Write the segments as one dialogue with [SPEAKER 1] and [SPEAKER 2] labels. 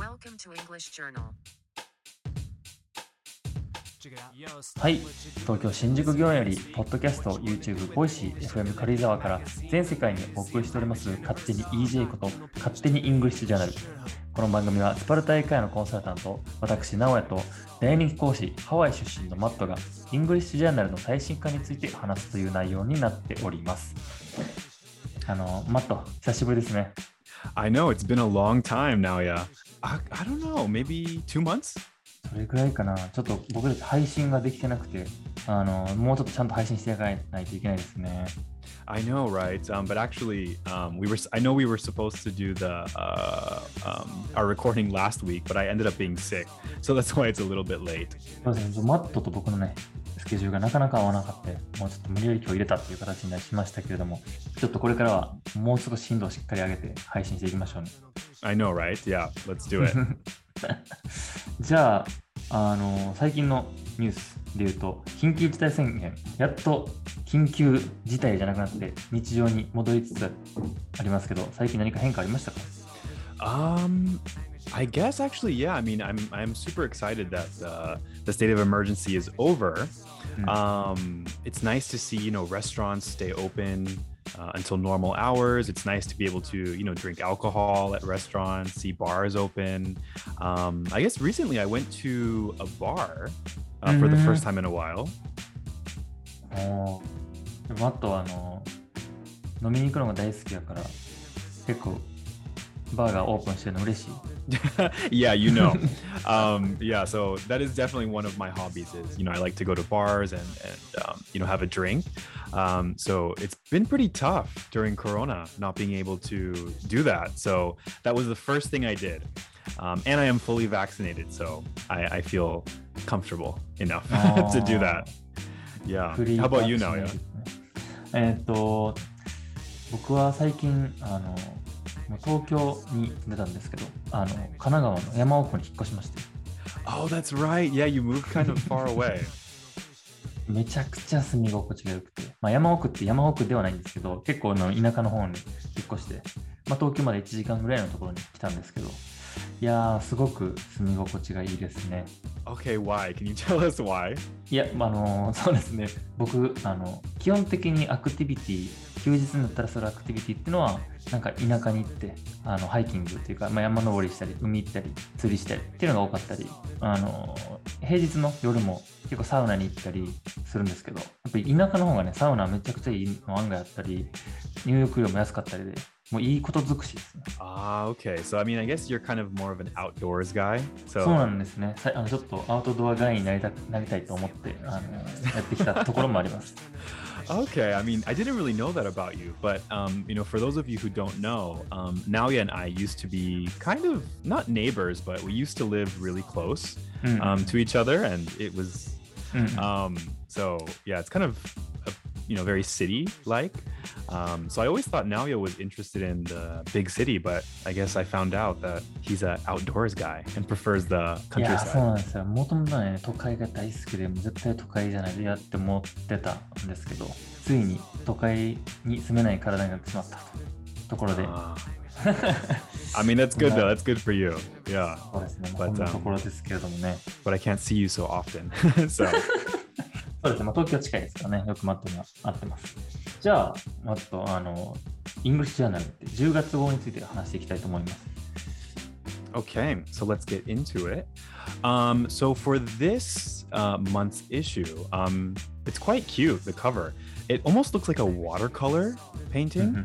[SPEAKER 1] Welcome to English Journal.
[SPEAKER 2] はい、東京新宿御苑よりポッドキャスト、YouTube、ボイシー、FM 軽井沢から全世界にお送りしております勝手に EJ こと勝手にイングリッシュジャーナル。この番組はスパルタ英会話のコンサルタント私直哉と大人気講師ハワイ出身のマットがイングリッシュジャーナルの最新化について話すという内容になっております。マット久しぶりですね。
[SPEAKER 3] I know, it's been a long time now, yeah. I don't know, maybe 2 months?
[SPEAKER 2] それくらいかな。ちょっと僕たち配信ができてなくて、もうちょっとちゃんと配信していかないといけないですね。
[SPEAKER 3] I know, right? But actually, I know we were supposed to do our recording last week, but I ended up being sick. So that's why it's a little bit late.
[SPEAKER 2] そうですね。マットと僕のね、スケジュールがなかなか合わなかった。もうちょっと無理やり今日入れたっていう形になりましたけれども、ちょっとこれからはもう少し頻度をしっかり上げて配信していきましょうね。
[SPEAKER 3] I know, right? Yeah, let's do it.
[SPEAKER 2] じゃあ、最近のニュースで言うと、緊急事態宣言、やっと緊急事態じゃなくなって日常に戻りつつありますけど、最近何か変化ありましたか？
[SPEAKER 3] I guess actually, yeah. I mean, I'm super excited that the state of emergency is over. It's nice to see, restaurants stay open until normal hours. It's nice to be able to, drink alcohol at restaurants, see bars open. I guess recently I went to a bar for the first time in a while.
[SPEAKER 2] マットは飲みに行くのが大好きだから結構バーがオープンしてるの嬉しい。
[SPEAKER 3] Yeah, yeah, so that is definitely one of my hobbies is, I like to go to bars and have a drink. So it's been pretty tough during Corona not being able to do that. So that was the first thing I did. And I am fully vaccinated, so I feel comfortable enough to do that. Yeah. How about you now? Yeah.
[SPEAKER 2] 僕は最近東京に出たんですけど、神奈川の山奥に引っ越しまして。
[SPEAKER 3] Oh, that's right. Yeah, you moved kind of far away.
[SPEAKER 2] めちゃくちゃ住み心地が良くて、山奥って山奥ではないんですけど、結構田舎の方に引っ越して、東京まで1時間ぐらいのところに来たんですけど、いやー、すごく住み心地がいいですね。
[SPEAKER 3] Okay, why? Can you tell us why?
[SPEAKER 2] いや、そうですね。僕、基本的にアクティビティ、休日になったらするアクティビティっていうのは、なんか田舎に行って、ハイキングっていうか、山登りしたり、海行ったり、釣りしたりっていうのが多かったり、平日の夜も結構サウナに行ったりするんですけど、やっぱり田舎の方がね、サウナめちゃくちゃいいの案外あったり、入浴料も安かったりで、もういいこと尽くしですね。
[SPEAKER 3] Okay. So, I mean, I guess you're kind of more of an outdoors guy.
[SPEAKER 2] そうなんですね。ちょっとアウトドアガイになりたいと思って、やってきたところもあります。
[SPEAKER 3] Okay, I mean, I didn't really know that about you, but for those of you who don't know, Naoya and I used to be kind of not neighbors, but we used to live really close to each other, and it was so yeah, it's kind of very city-like. So I always thought Naoya was interested in the big city, but I guess I found out that he's an outdoors guy and prefers the countryside.
[SPEAKER 2] いや、そうなんですよ。もともとね、都会が大好きで、絶対都会じゃないとやって思ってたんですけど、ついに都会に住めない体になってしまったところで。
[SPEAKER 3] I mean, that's good though. That's good for you. Yeah.
[SPEAKER 2] そうですね。こんなところですけれどもね。
[SPEAKER 3] But I can't see you so often. So.
[SPEAKER 2] そうですね。東京近いですからね。よくマットには会ってます。じゃあ、マット、イングリッシュジャーナルって10月号について話していきたいと思います。
[SPEAKER 3] Okay, so let's get into it. So for this month's issue, it's quite cute, the cover. It almost looks like a watercolor painting.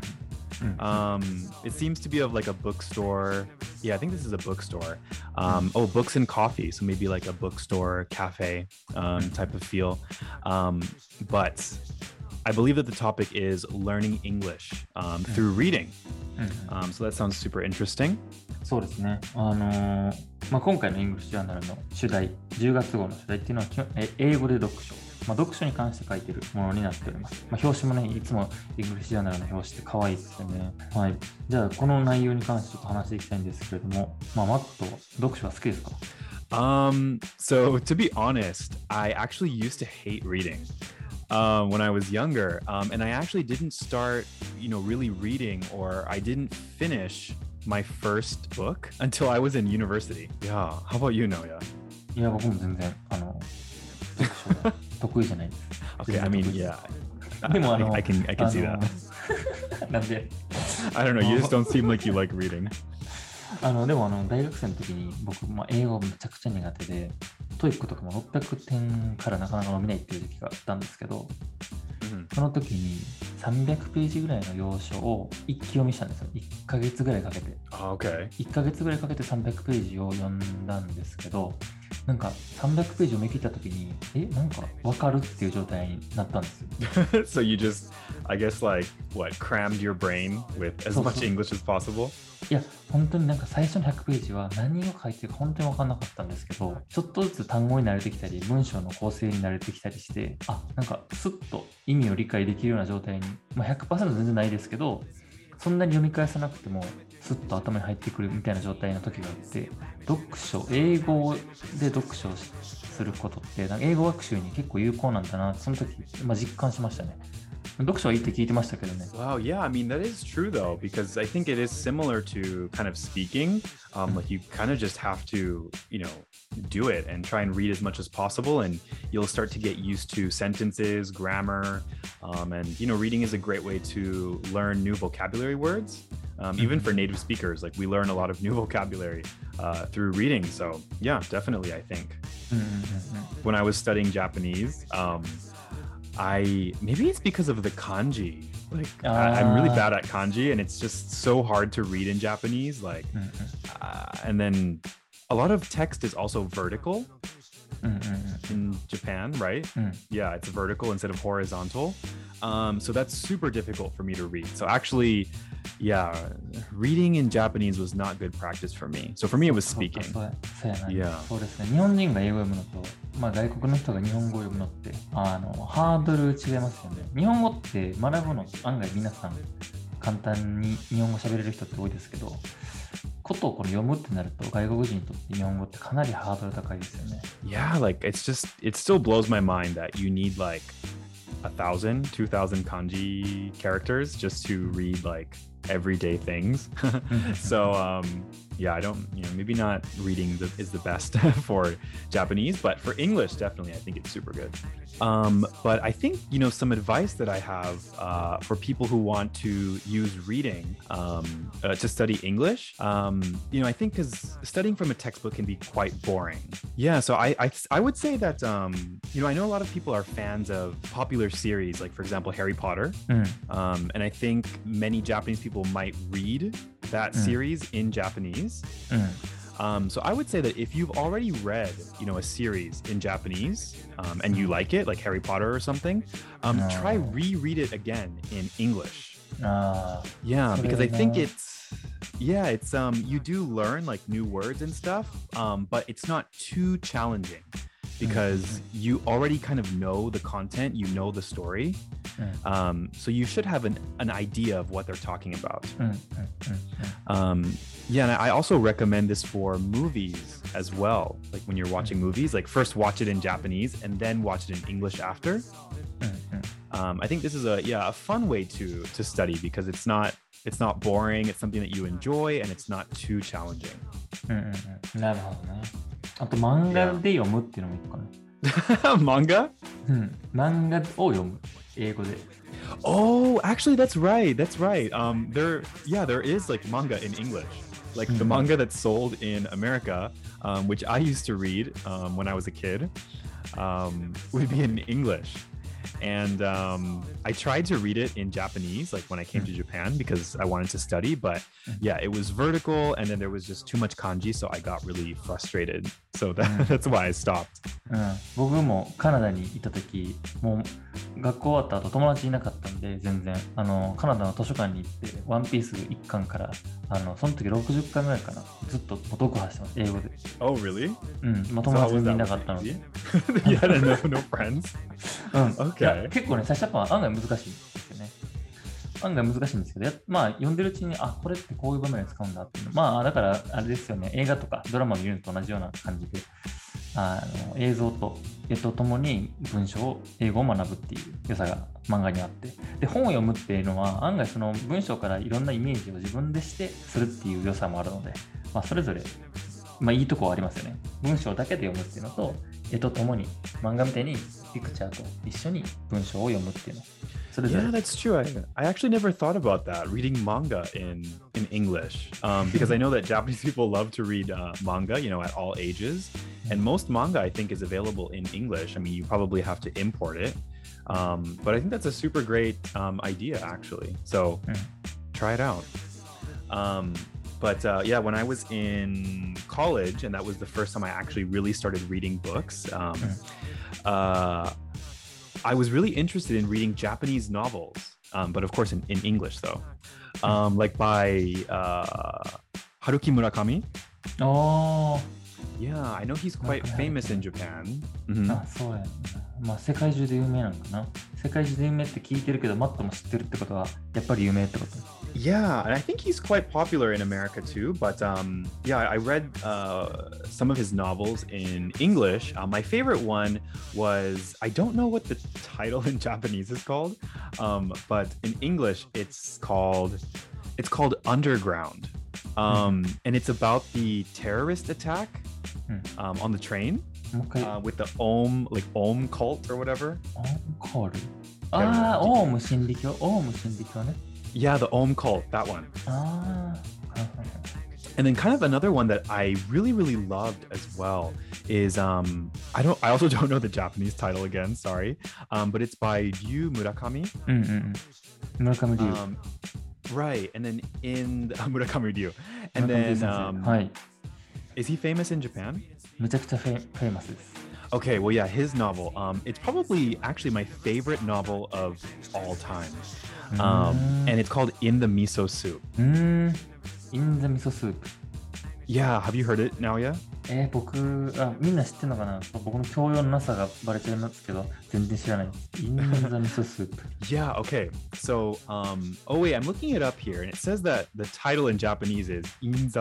[SPEAKER 3] It seems to be of like a bookstore. Yeah, I think this is a bookstore. Books and coffee. So maybe like a bookstore, cafe type of feel. But I believe that the topic is learning English through reading. So that sounds super interesting.
[SPEAKER 2] そうですね。今回のイングリッシュジャーナルの主題、10月号の主題っていうのは英語で読書。読書に関して書いているものになっております。表紙もね、いつもイングリッシュジャーナルの表紙って可愛いですよね。はい。じゃあ、この内容に関してちょっと話していきたいんですけれども、マット、読書は好きですか？
[SPEAKER 3] So to be honest, I actually used to hate reading. When I was younger, and I actually didn't start, really reading, or I didn't finish my first book until I was in university. Yeah. How about you, Noya?
[SPEAKER 2] いや、僕も全然、読書が得意じゃないです。
[SPEAKER 3] Okay, I mean, yeah.
[SPEAKER 2] でも
[SPEAKER 3] I can see that.
[SPEAKER 2] なんで
[SPEAKER 3] I don't know, you just don't seem like you like reading.
[SPEAKER 2] でも大学生の時に僕、英語めちゃくちゃ苦手で、トイックとかも600点からなかなか伸びないっていう時期があったんですけど、その時に300ページぐらいの要所を一気読みしたんですよ。1ヶ月ぐらいかけて。
[SPEAKER 3] Okay.
[SPEAKER 2] 1ヶ月ぐらいかけて300ページを読んだんですけど、なんか300ページ読み切った時に、なんか分かるっていう状態になったんですよ。
[SPEAKER 3] So you just, I guess like, what, crammed your brain with as much English as possible?
[SPEAKER 2] いや、本当になんか最初の100ページは何を書いてるか本当に分かんなかったんですけど、ちょっとずつ単語に慣れてきたり、文章の構成に慣れてきたりして、なんかスッと意味を理解できるような状態に、100% 全然ないですけど、そんなに読み返さなくても、スッと頭に入ってくるみたいな状態の時があって、英語で読書をすることって、なんか英語学習に結構有効なんだな、その時、実感しましたね。読書はいいって聞いてましたけどね。
[SPEAKER 3] Wow, yeah, I mean, that is true though, because I think it is similar to kind of speaking. Like you kind of just have to, do it and try and read as much as possible, and you'll start to get used to sentences, grammar, and, reading is a great way to learn new vocabulary words. Even for native speakers, like we learn a lot of new vocabulary through reading. So yeah, definitely, I think. When I was studying Japanese, maybe it's because of the kanji. Like I'm really bad at kanji, and it's just so hard to read in Japanese. Like, and then a lot of text is also vertical in Japan, right? Yeah, it's vertical instead of horizontal. So that's super difficult for me to read. So actually, yeah, reading in Japanese was not good practice for me. So for me, it was speaking.
[SPEAKER 2] そうですね。日本人が英語を読むのと、外国の人が日本語を読むのって、ハードル違いますよね。日本語って学ぶの案外皆さん簡単に日本語喋れる人って多いですけど、ことを読むってなると外国人にとって日本語ってかなりハードル高いですよね。
[SPEAKER 3] Yeah, like it still blows my mind that you need like 1,000, 2,000 kanji characters just to read like everyday things. So yeah, I don't, maybe not reading is the best for Japanese, but for English, definitely, I think it's super good. But I think, some advice that I have for people who want to use reading to study English, I think because studying from a textbook can be quite boring. Yeah, so I would say that, I know a lot of people are fans of popular series, like, for example, Harry Potter. And I think many Japanese people might read that series in Japanese. So I would say that if you've already read, a series in Japanese and you like it, like Harry Potter or something, try reread it again in English. Yeah, because I think it's you do learn like new words and stuff, but it's not too challenging because you already kind of know the content, you know the story. So you should have an idea of what they're talking about. Yeah, and I also recommend this for movies as well. Like when you're watching movies, like first watch it in Japanese and then watch it in English after. I think this is a fun way to study because it's not boring. It's something that you enjoy and it's not too challenging.
[SPEAKER 2] なるほどね。あと漫画で読むっていうのもいいかな。
[SPEAKER 3] Manga?
[SPEAKER 2] 漫画を読む。英語で。
[SPEAKER 3] Oh, actually, that's right. There is like manga in English. Like the manga that's sold in America, which I used to read when I was a kid, would be in English. And I tried to read it in Japanese, like when I came to Japan, because I wanted to study. But yeah, it was vertical, and then there was just too much kanji, so I got really frustrated. So that's why I stopped.
[SPEAKER 2] 僕もカナダにいた時、もう学校終わった後友達いなかったんで全然カナダの図書館に行ってワンピース1巻からその時60巻ぐらいかなずっと読破してます英語で。
[SPEAKER 3] Oh really?
[SPEAKER 2] 友達全然いなかったので。
[SPEAKER 3] You had no friends? Okay.
[SPEAKER 2] 結構ね最初は案外難しいんですよね。案外難しいんですけど、読んでるうちにこれってこういう場面で使うんだっていうのだからあれですよね、映画とかドラマ見るのと同じような感じで映像と絵とともに文章を英語を学ぶっていう良さが漫画にあって、で本を読むっていうのは案外その文章からいろんなイメージを自分でしてするっていう良さもあるので、それぞれ、いいとこはありますよね。文章だけで読むっていうのと、絵とともに漫画みたいにピクチャーと一緒に文章を読むっていうの。
[SPEAKER 3] Yeah, that's true. I actually never thought about that, reading manga in English, because I know that Japanese people love to read manga, you know, at all ages. And most manga, I think, is available in English. I mean, you probably have to import it. But I think that's a super great idea, actually. So try it out. But yeah, when I was in college, and that was the first time I actually really started reading books, I was really interested in reading Japanese novels, but of course in English, though. Like by Haruki Murakami.
[SPEAKER 2] Oh.
[SPEAKER 3] Yeah, I know he's quite famous in Japan.
[SPEAKER 2] そうやな。世界中で有名なのかな。世界中で有名って聞いてるけど、マットも知ってるってことは、やっぱり有名ってこと。
[SPEAKER 3] Yeah, and I think he's quite popular in America too. But yeah, I read some of his novels in English. My favorite one was, I don't know what the title in Japanese is called, but in English it's called Underground. And it's about the terrorist attack on the train with the Ohm cult or whatever.
[SPEAKER 2] Ohm cult? オウム真理教ね。
[SPEAKER 3] Yeah, the Ohm cult, that one. And then kind of another one that I really, really loved as well is I also don't know the Japanese title again, sorry. But it's by Ryu Murakami.
[SPEAKER 2] Murakami Ryu.
[SPEAKER 3] Right, and then in Murakami Ryu. And then is he famous in Japan?
[SPEAKER 2] めちゃくちゃフェイマスです。
[SPEAKER 3] Okay, well, yeah, his novel. It's probably actually my favorite novel of all time. And it's called In the Miso Soup.
[SPEAKER 2] In the Miso Soup.
[SPEAKER 3] Yeah, have you heard it, Naoya?
[SPEAKER 2] みんな知ってるのかな。僕の教養のなさがバレちゃいますけど、全然知らない。In the Miso Soup.
[SPEAKER 3] Yeah, okay. So, oh wait, I'm looking it up here, and it says that the title in Japanese is In the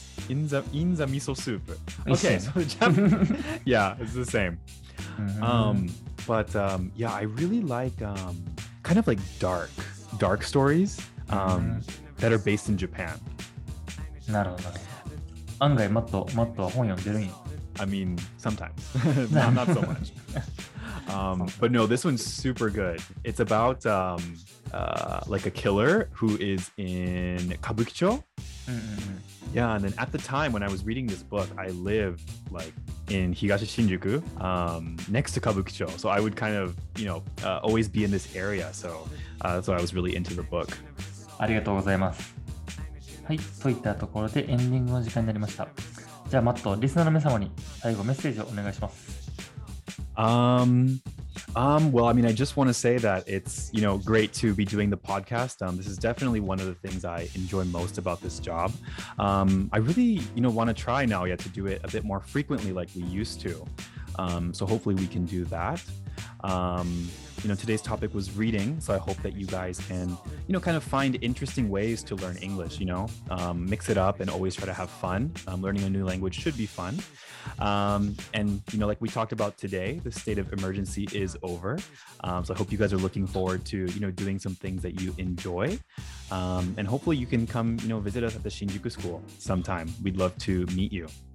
[SPEAKER 3] Miso Soup. Okay, so yeah, it's the same. But yeah, I really like kind of like dark stories that are based in Japan.
[SPEAKER 2] なるほど。案外マットは本読んでるんや。
[SPEAKER 3] I mean, sometimes. not so much. But no, this one's super good. It's about like a killer who is in Kabukicho. Yeah, and then at the time when I was reading this book, I lived like in Higashi Shinjuku, next to Kabukicho. So I would kind of, always be in this area. So that's why I was really into the book.
[SPEAKER 2] ありがとうございます。はい、といったところでエンディングの時間になりました。じゃあマット、リスナーの皆様に最後メッセージをお願いします。
[SPEAKER 3] Well, I mean, I just want to say that it's, great to be doing the podcast. This is definitely one of the things I enjoy most about this job. I really, want to try now yet to do it a bit more frequently like we used to. So hopefully we can do that. Today's topic was reading, so I hope that you guys can, kind of find interesting ways to learn English, mix it up and always try to have fun. Learning a new language should be fun. And, like we talked about today, the state of emergency is over. So I hope you guys are looking forward to, doing some things that you enjoy. And hopefully you can come, visit us at the Shinjuku School sometime. We'd love to meet you.